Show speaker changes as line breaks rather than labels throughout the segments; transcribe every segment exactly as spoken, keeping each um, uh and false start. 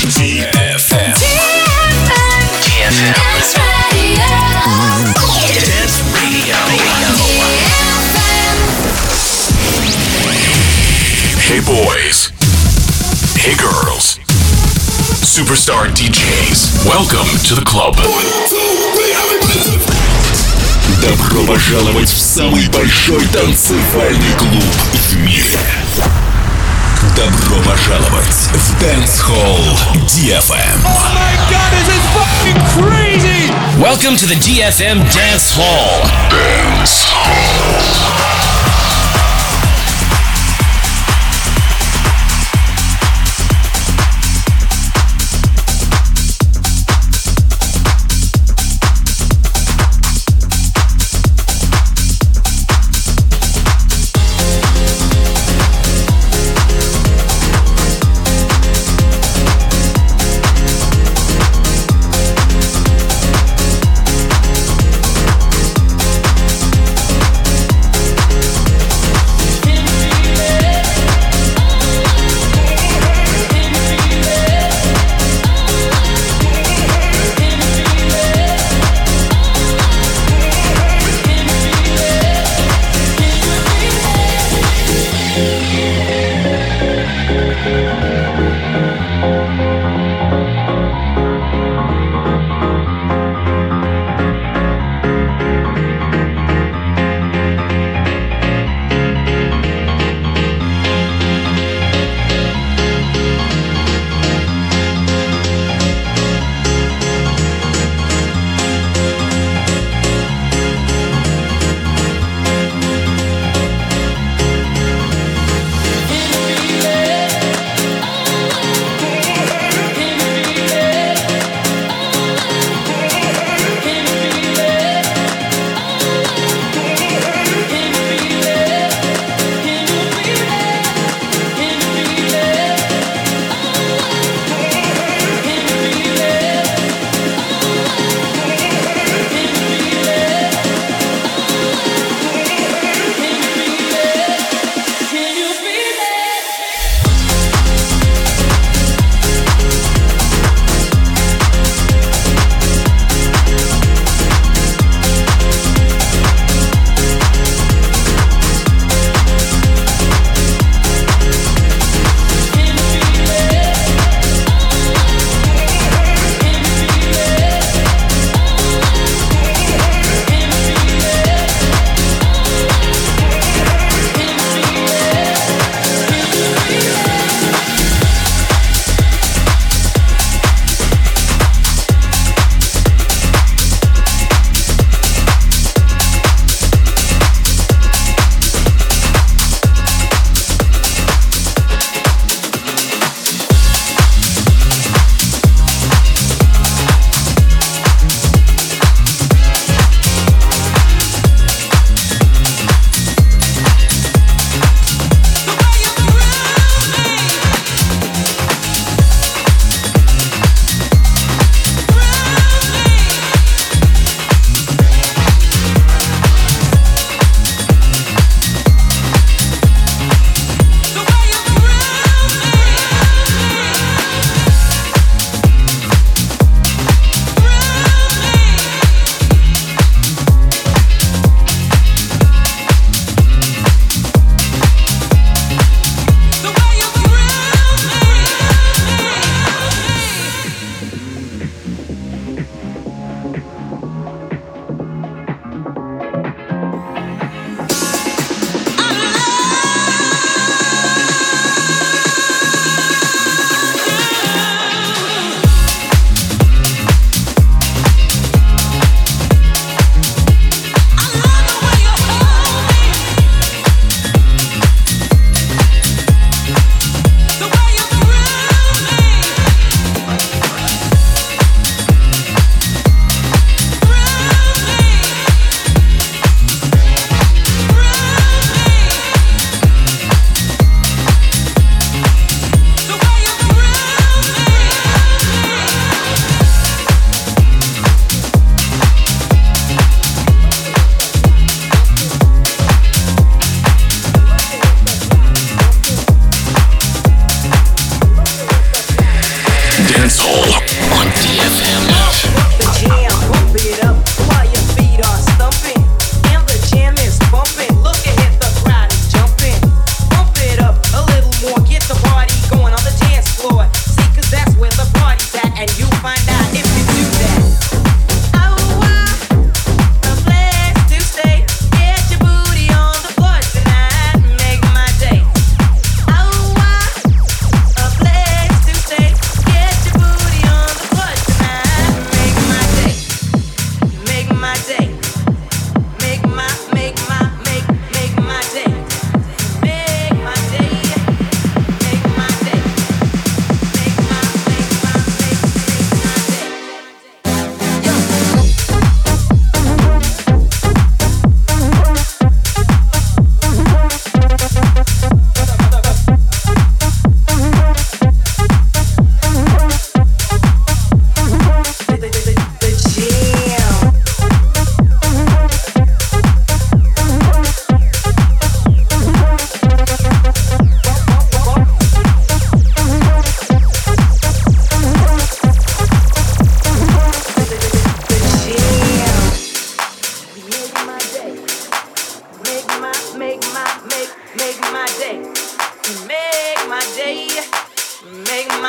ди эф эм. ди эф эм. Dance Radio. Dance Radio. Hey boys. Hey girls. Superstar ди джейс. Welcome to the club. Добро пожаловать в самый большой танцевальный клуб в мире. Добро пожаловать в Dance Hall ди эф эм.
Oh my god, this is fucking crazy!
Welcome to the ди эф эм Dance Hall.
Dance Hall.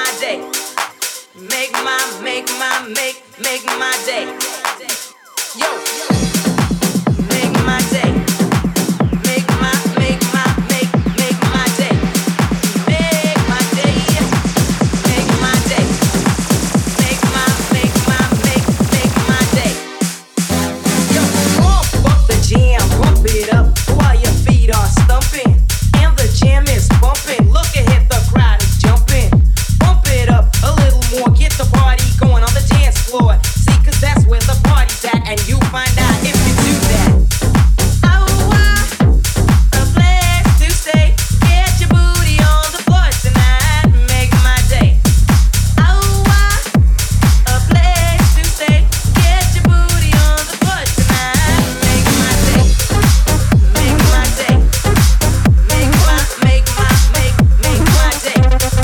my day. Make my, make my, make, make my day. Yo, make my day. Make my, make my, make, make my day. Make my day. Make my day. Make my, make my, make, make my day. Yo, pump up the jam, pump it up while your feet are stumping. And the jam is bumping. Look ahead, the crowd is jumping. Pump it up a little more, get the party going on the dance floor. See, cause that's where the party's at, and you find out if you do that. Oh, wow, a place to stay. Get your booty on the floor tonight. Make my day. Oh, wow, a place to stay. Get your booty on the floor tonight. Make my day. Make my day. Make my, make my, make, make my day.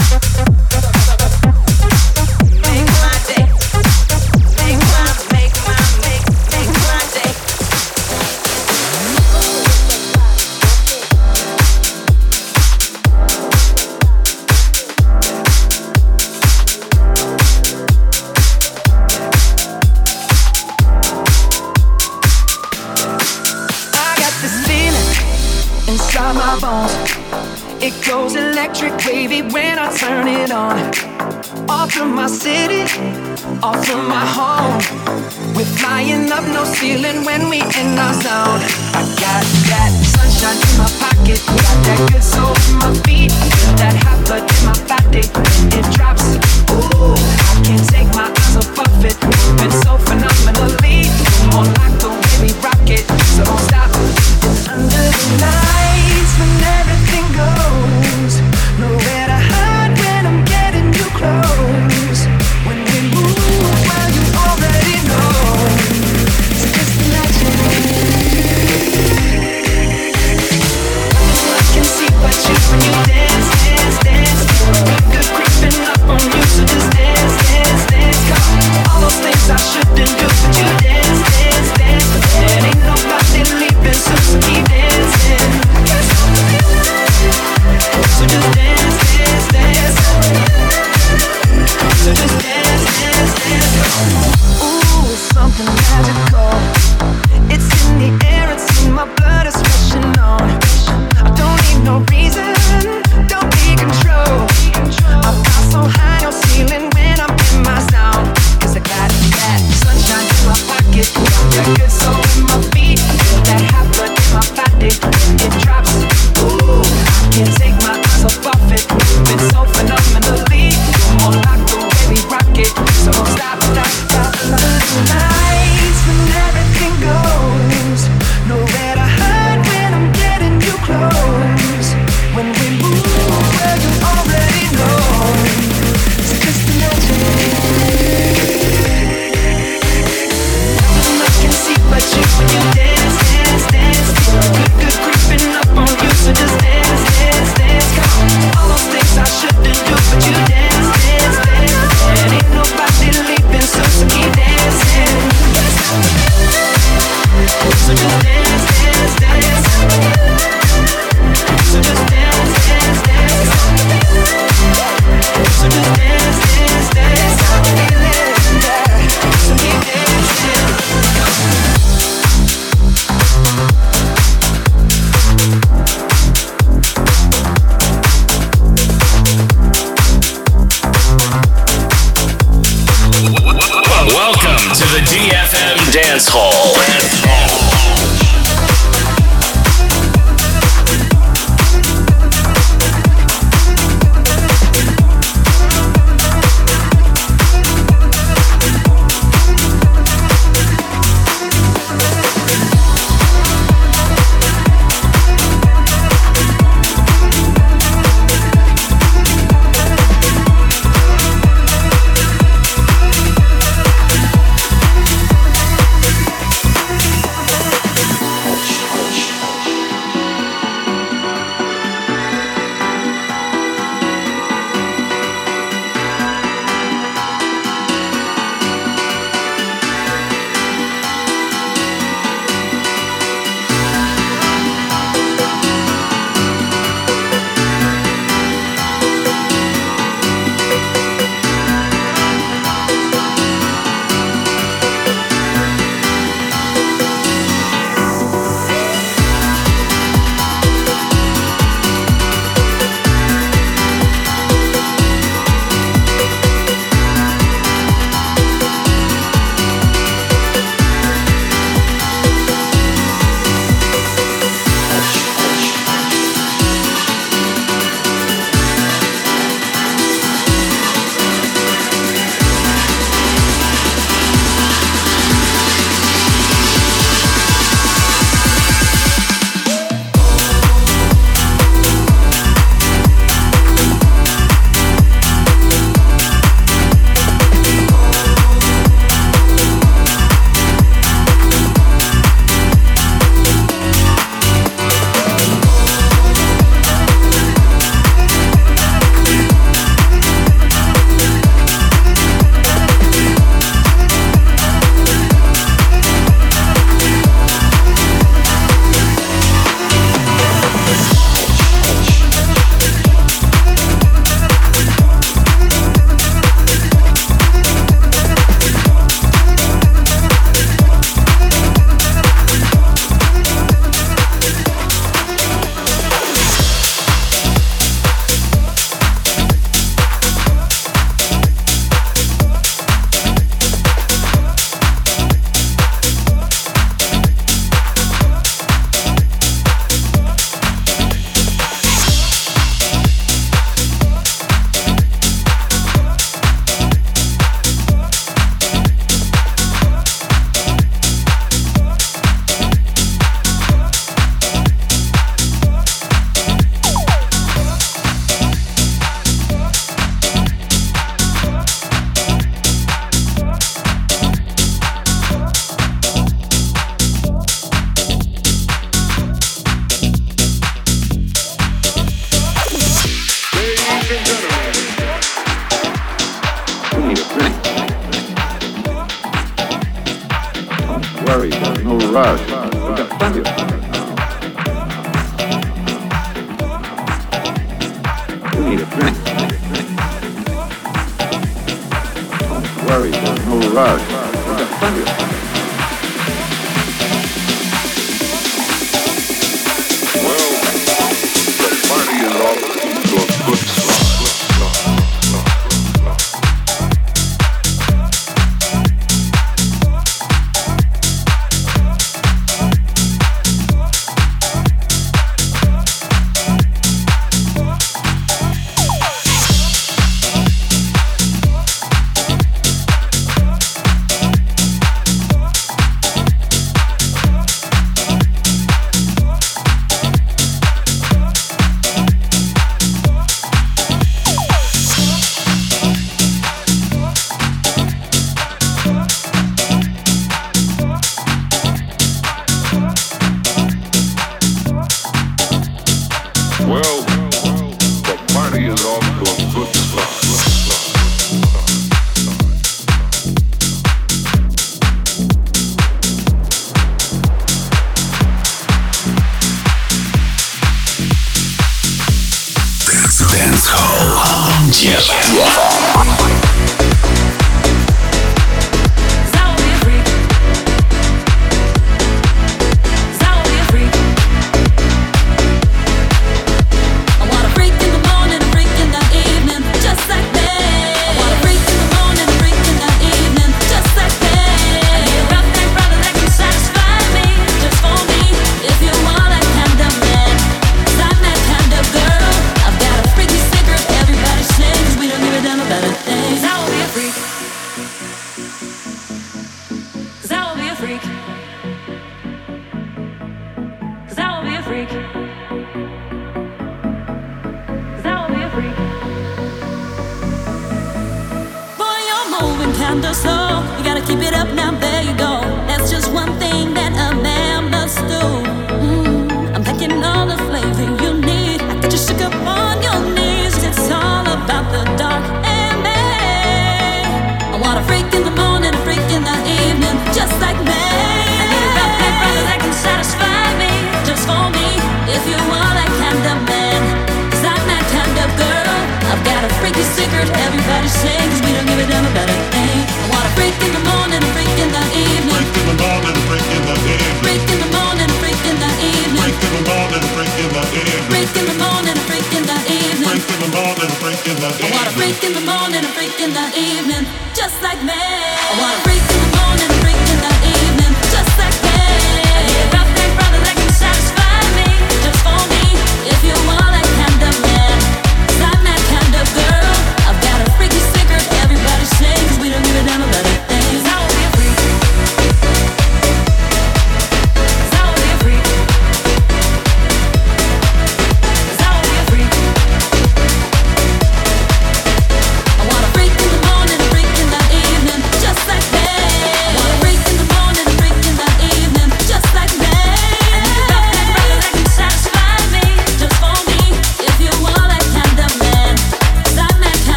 Make my day. Make my, make my, make, make my day.
I got this feeling inside my bones. It goes electric wavy when I turn it on. Off from my city, off from my home. We're flying up, no ceiling when we in our zone. I got that sunshine in my pocket, got that good soul in my feet, feel that hot blood in my body. It drops, ooh, I can't take my eyes off of it. Moving so phenomenally, more like the way we rock it. So don't stop. It's under the lights when everything goes. Nowhere to hide when I'm getting you close. When we move, well you already know. It's just imagine. I can see what you when you dance, dance, dance. Good creeping up on you, so just dance, dance, dance. Come on, all those things I shouldn't do, but you dance, dance, dance. And ain't nobody leaving, so so keep dancing. So just dance, dance, dance. So just dance, dance, dance. Ooh, something magical. It's in the air, it's in my blood, it's rushing on. I don't need no reason, don't be control. I fly so high, no ceiling when I'm in my zone. Cause I got that sunshine in my pocket, got that good soul in my feet, feel that hot blood in my body. It drops, ooh, I can't take my eyes off of it. Moving so phenomenally, more like the way we rock it. So don't stop, stop, stop. Lights when everything goes. Nowhere to hide when I'm getting you close. When we move, well you already know. It's just imagine. I can see what you when you dance, dance, dance. Good, good creeping up on you, so just dance, dance, dance. Come on, all those things I shouldn't do, but you dance, dance, dance. And ain't nobody leaving, so so keep dancing. So just dance, dance, dance. So just dance, dance, dance. So just dance, dance, dance. So keep dancing.
Welcome to the D F M Dance Hall.
worry, there's no rush. We've got plenty of time now. You need a drink. Don't worry, there's no rush. We've got plenty of time.
Well, the party is off to a good start. Well, the party is off to a good start.
Dance Hall on D F M.
Kinda slow, you gotta keep it up now, there you go. That's just one thing that a man must do. Mm, I'm packing all the flavor you need. I get you shook up on your knees. It's all about the dark and me. I want a freak in the morning, a freak in the evening, just like me. I need a rough black brother that can satisfy me, just for me. If you want that kind of man, 'cause I'm that kind of girl. I've got a freaky secret, everybody sings. We don't give a damn about it. Freak in the morning, freak in the evening.
Freak in the morning, freak in the evening.
Freak in the morning, freak in the evening.
Freak in the morning, freak in the evening.
Freak in the morning, freak in the evening.
Freak in the morning, freak in the evening.
I want a freak in the morning, a freak in the evening, just like me. I want a freak in the morning, a freak in the evening, just like me. I need a rough neck brother that can satisfy me, just for me. If you want that kind of man, 'cause I'm that kind of girl. I've got a freaky secret, everybody sings. We don't give a damn about it. Just like that.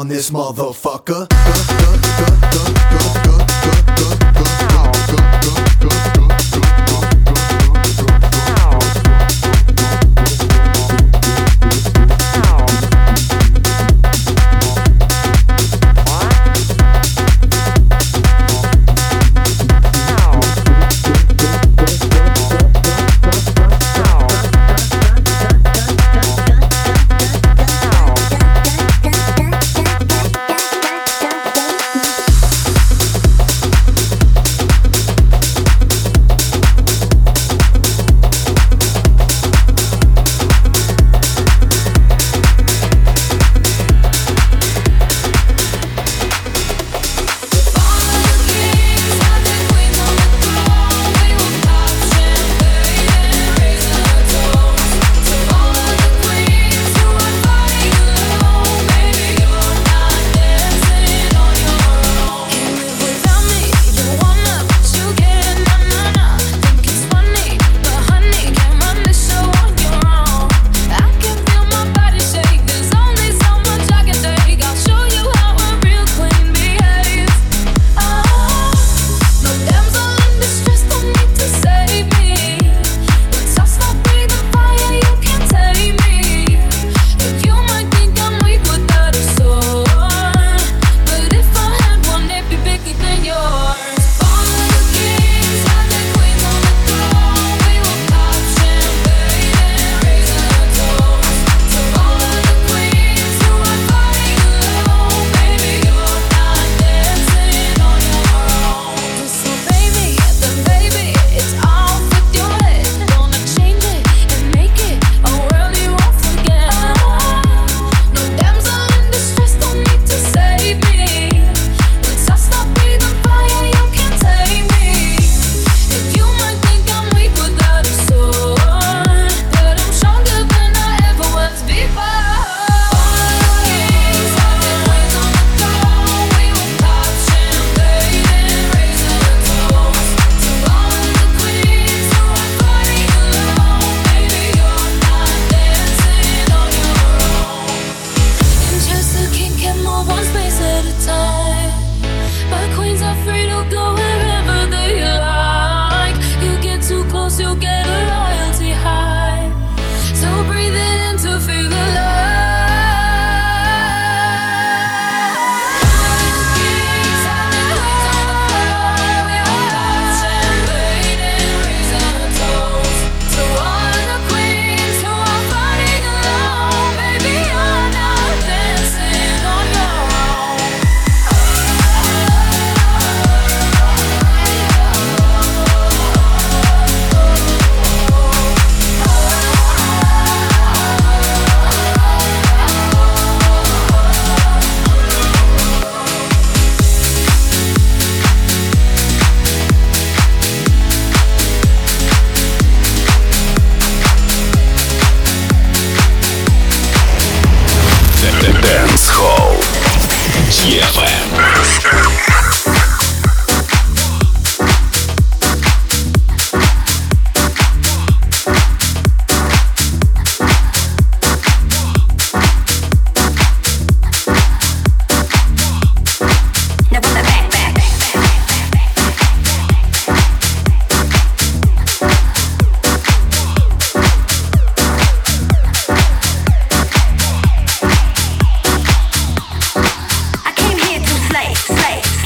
this motherfucker.
Slay, slay.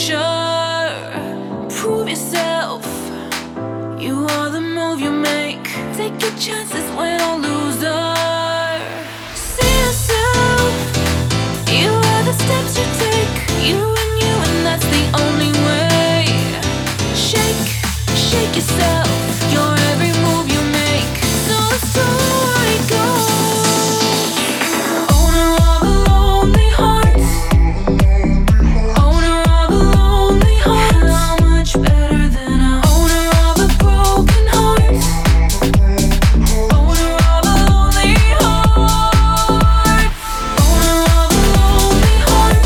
pressure. Prove yourself. You are the move you make. Take your chances when a loser. See yourself. You are the steps you take. You and you, and that's the only way. Shake, shake yourself. Your every move you make. So the story goes. Owner of a lonely heart. Owner of a lonely heart. How much better than a owner of a broken heart. Owner of a lonely heart. Owner of a lonely heart.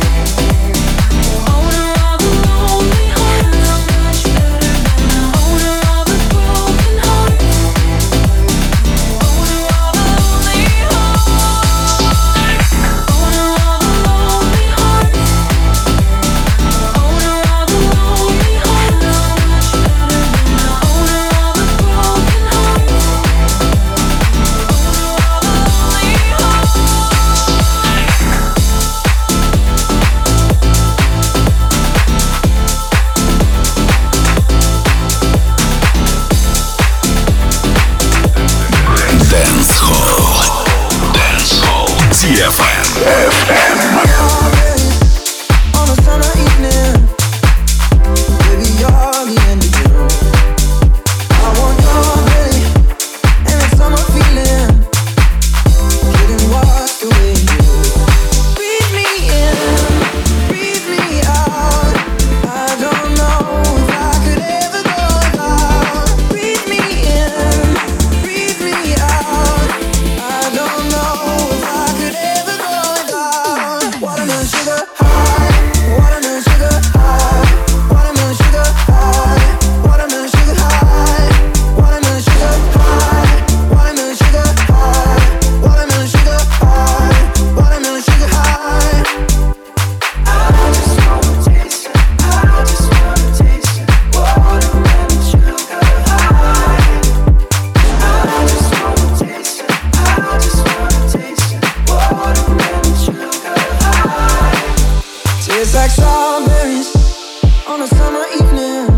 Owner of a lonely heart. How much better than a owner of a broken heart. Owner of a lonely heart. Owner of a lonely heart. Owner of a lonely heart. How much better than a owner of a broken heart.
Dance Hall. Dance Hall. ди эф эм.
On a summer evening, baby, you're the end of June. I want your belly and that summer feeling, getting washed away in you. Breathe me in, breathe me out. I don't know if I could ever go without. Breathe me in, breathe me out. I don't know if I could ever go without. Watermelon sugar high, watermelon sugar high, watermelon sugar high, watermelon sugar high, watermelon sugar high, watermelon sugar high, watermelon sugar high, watermelon sugar high. I just wanna taste it, I just wanna taste it, watermelon sugar high. I just wanna taste it, I just wanna taste it, watermelon sugar high. Tastes like strawberries on a summer evening,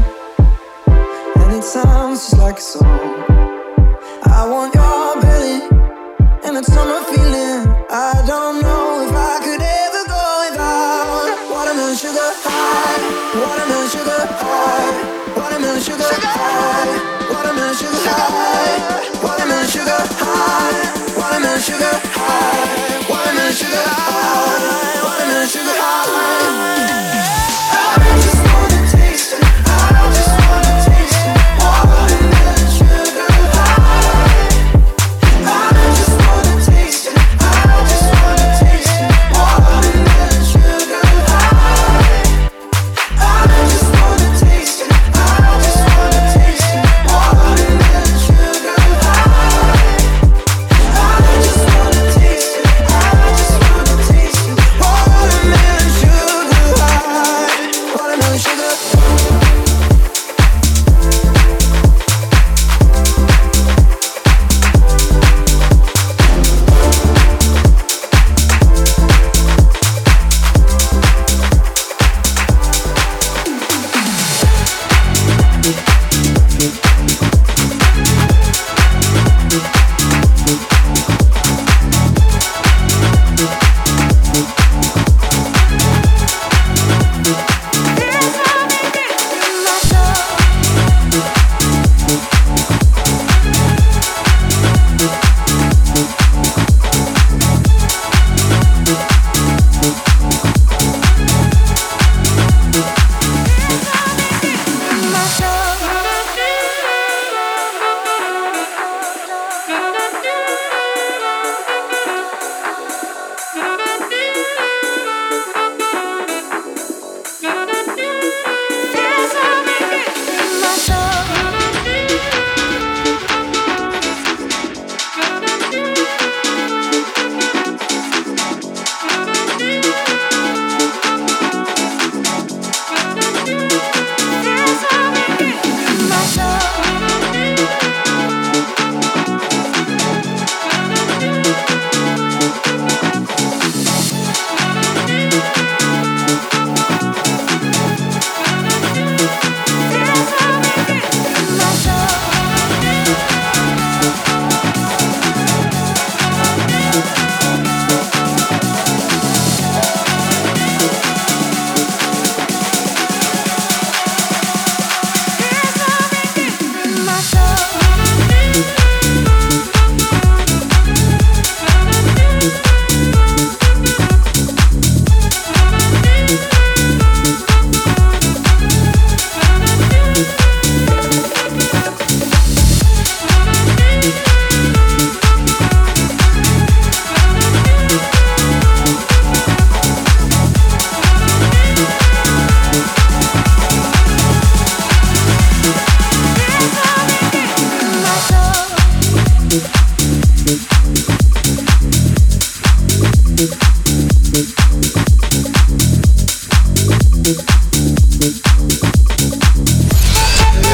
and it sounds just like a song. I want your belly and that summer feeling. I don't know if I could ever go without. Watermelon sugar high, watermelon sugar high, watermelon sugar high, watermelon sugar high, watermelon sugar high, watermelon sugar high, watermelon sugar high, watermelon sugar high. I just wanna taste it, I just wanna taste it, watermelon sugar high. I just wanna taste it, I just wanna taste it, watermelon sugar high. I just wanna taste it, I just wanna taste it, watermelon sugar high. I just wanna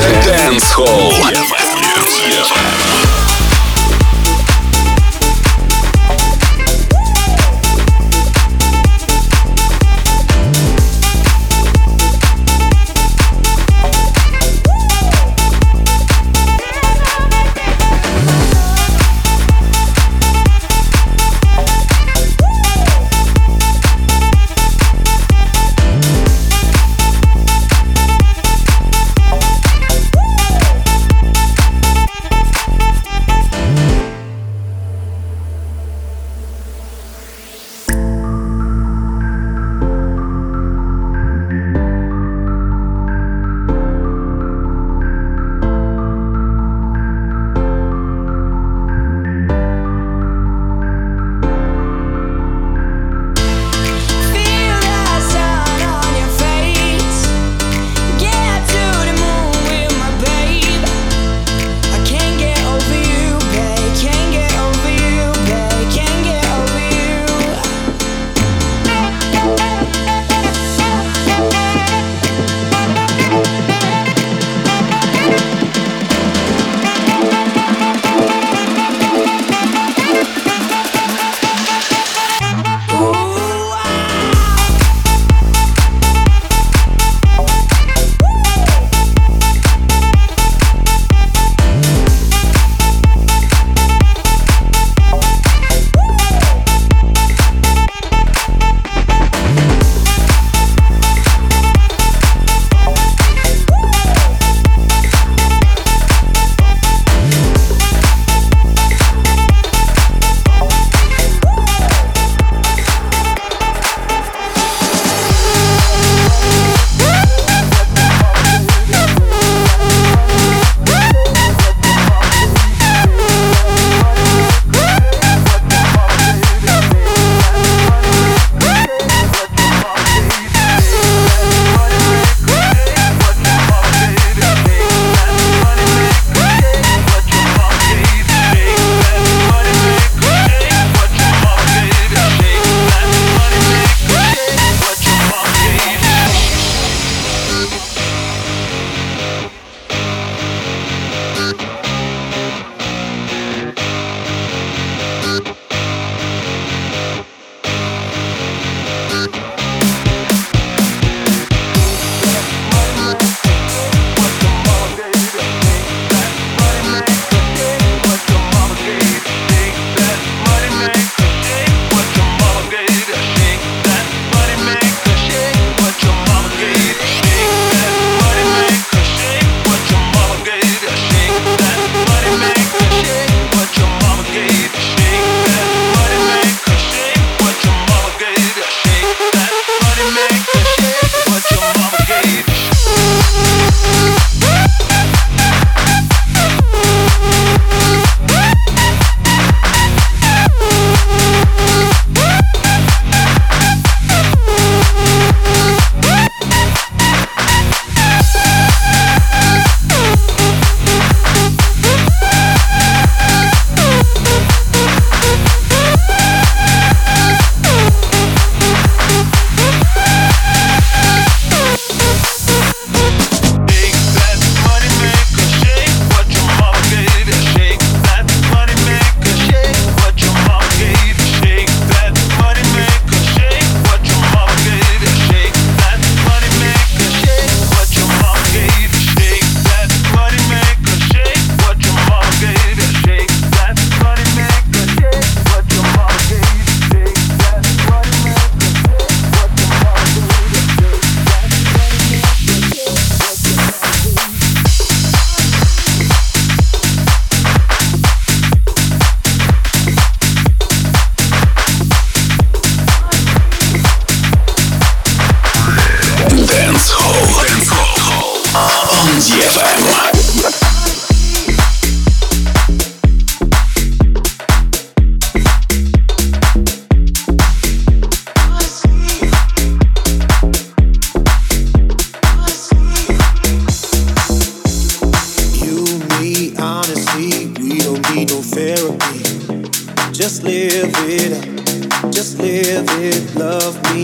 Dance Hall.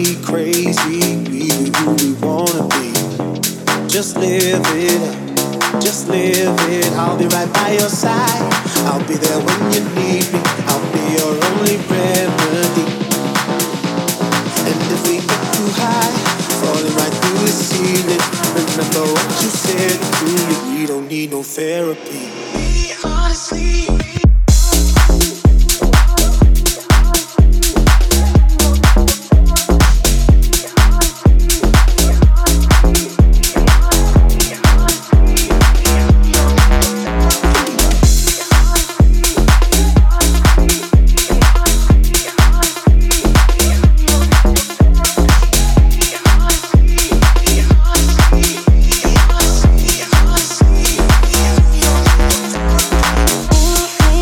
Just live it up. just live it. I'll be right by your side. I'll be there when you need me. I'll be your only remedy. And if we get too high, falling right through the ceiling, remember what you said to me. We don't need no therapy. Honestly.
Ooh,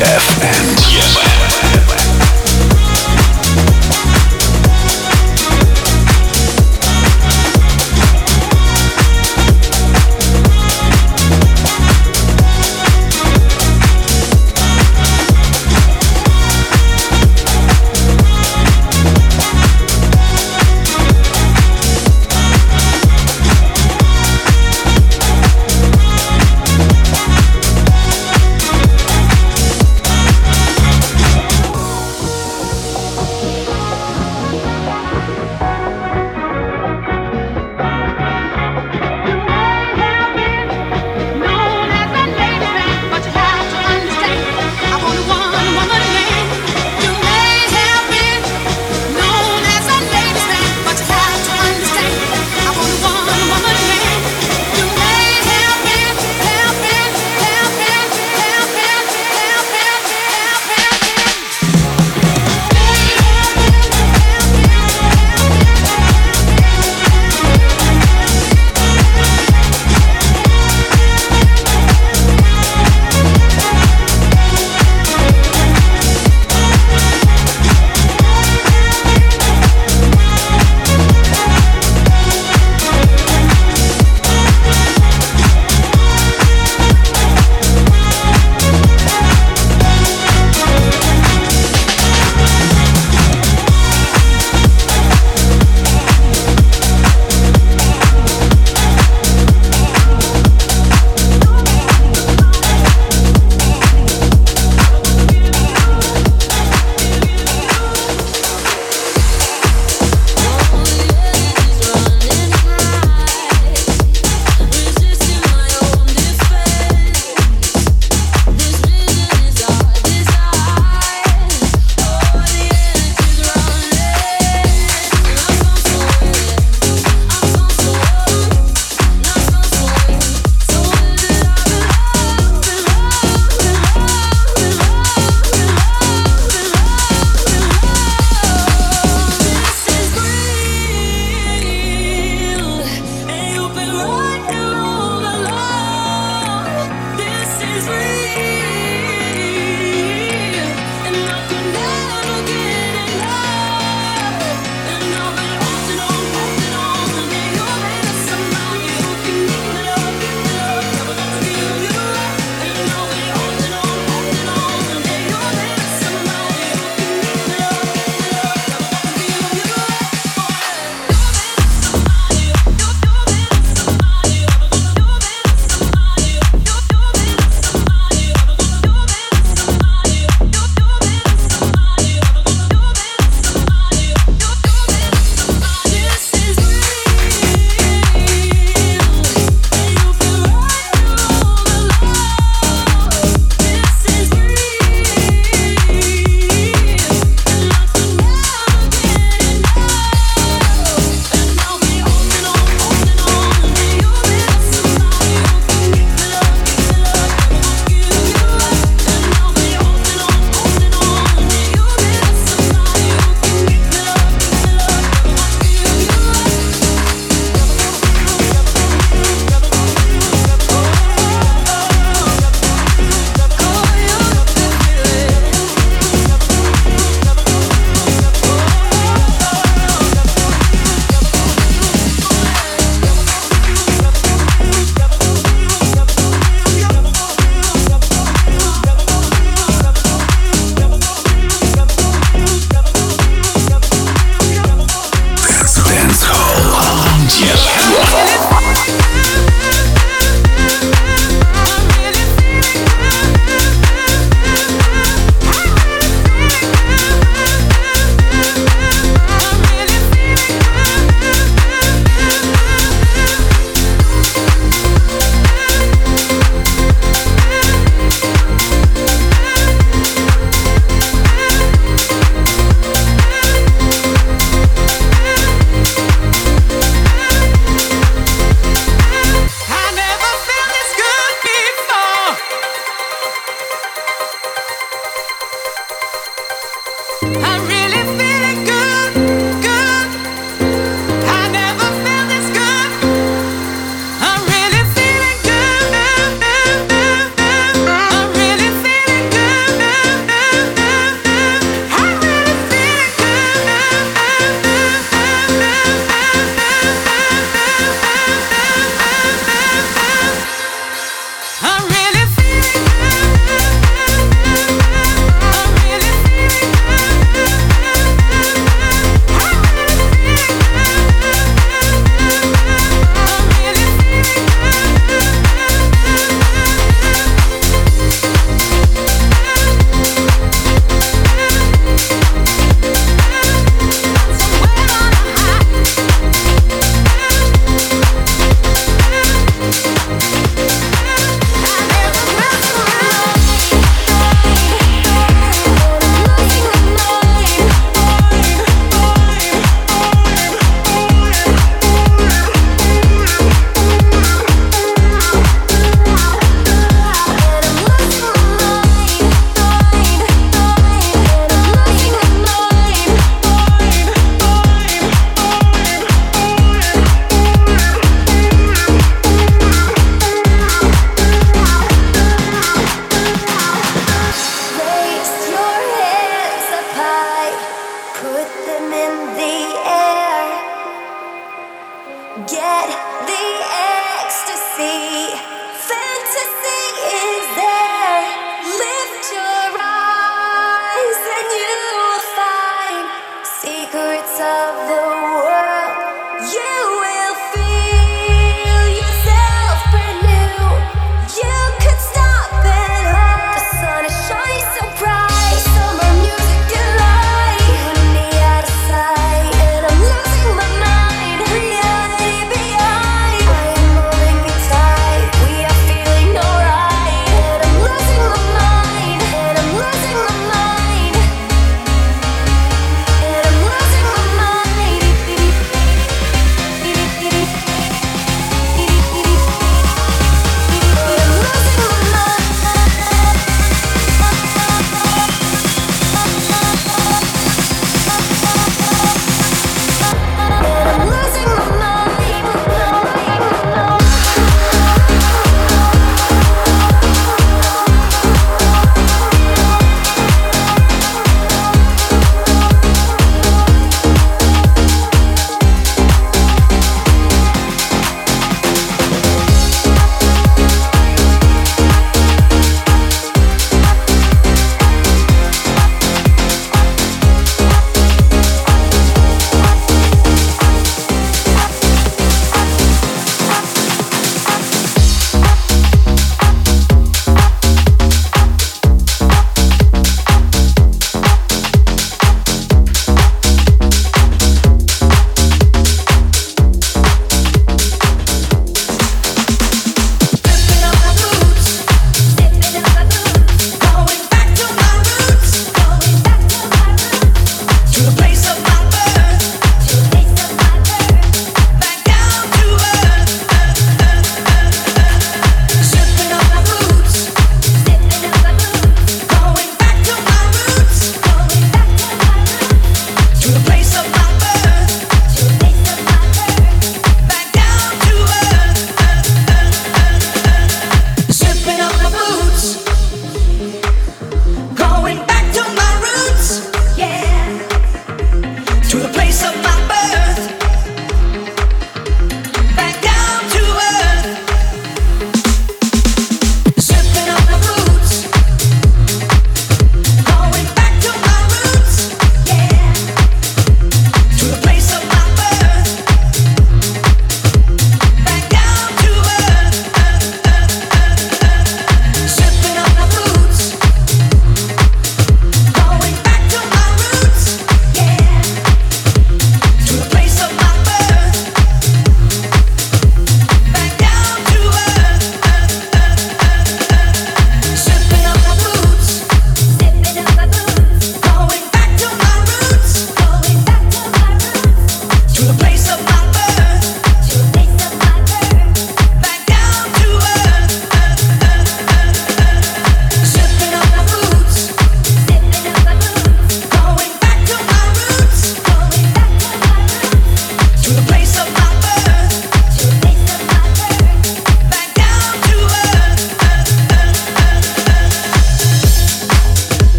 эф эм.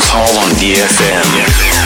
Dance Hall on D F M.